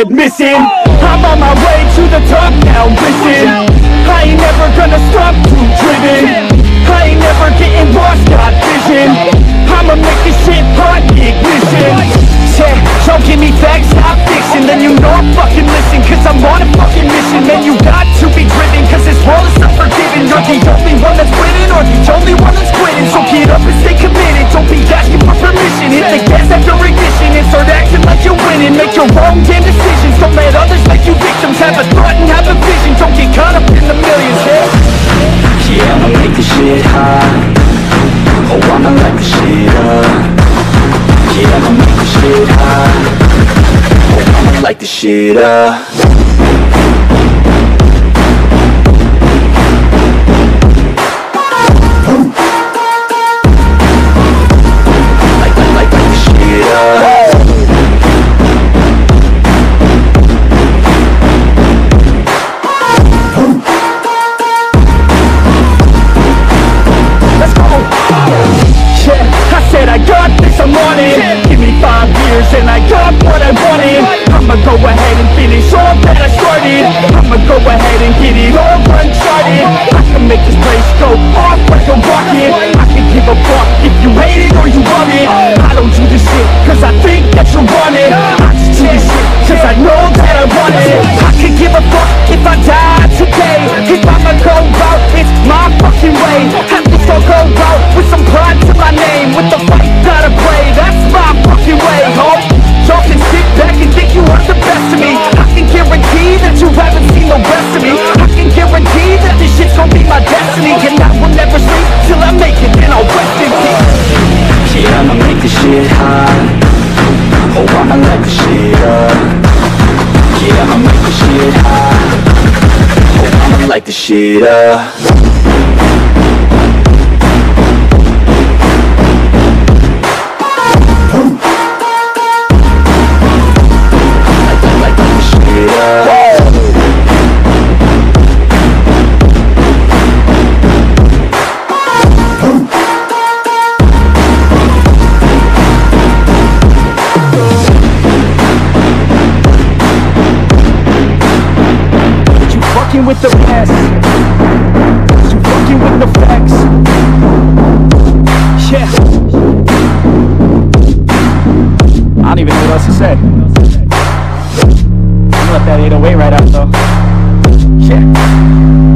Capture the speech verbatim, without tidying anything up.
head missing. I'm on my way to the top now, listen. I ain't never gonna stop, too driven. I ain't never getting lost, got vision. I'ma make this shit hot, ignition. Yeah, don't give me facts, not fiction. Then you know I'm fucking listen, cause I'm on a fucking mission. Man, you got to be driven, cause this world is not forgiving. You're the only one that's winning, or the only one that's quitting. So get up and stay committed, don't be asking for permission. Hit the gas after ignition and start acting like you're winning. Make your own damn decisions, don't let others make you victims. Have a thought and have a vision, don't get caught up in the millions, yeah. Yeah, I'ma make this shit hot. Oh, I'ma light this shit up. Yeah, I'ma make this shit hot. Oh, I'ma light this shit up. Light, light, light, light this shit up. And I got what I wanted. I'ma go ahead and finish all that I started. I'ma go ahead and get it all uncharted. I can make this place go off like a rocket. I can give a fuck if you hate it or you love it. I don't do this shit cause I think that you want it. I just do this shit cause I know that I want it. I could give a fuck if I die today. If I'ma go out, it's my fucking way. At least I'll go out with some pride to my name. With the fight gotta play, that's my fucking way, ho. Y'all can sit back and think you are the best of me. I can guarantee that you haven't seen the rest of me. I can guarantee that this shit's gonna be my destiny. And I will never sleep till I make it, and I'll rest in peace. Yeah, I'ma make this shit hot. Oh, I'ma light this shit up. Yeah, I'ma make this shit hot. Oh, I'ma light this shit up. With the past, you fucking with the facts. Yeah, I don't even know what else to say. I'm gonna let that eight oh eight right out though. Yeah.